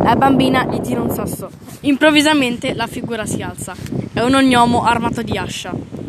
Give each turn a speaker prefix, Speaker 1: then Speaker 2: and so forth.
Speaker 1: La bambina gli tira un sasso. Improvvisamente la figura si alza. È un ognomo armato di ascia.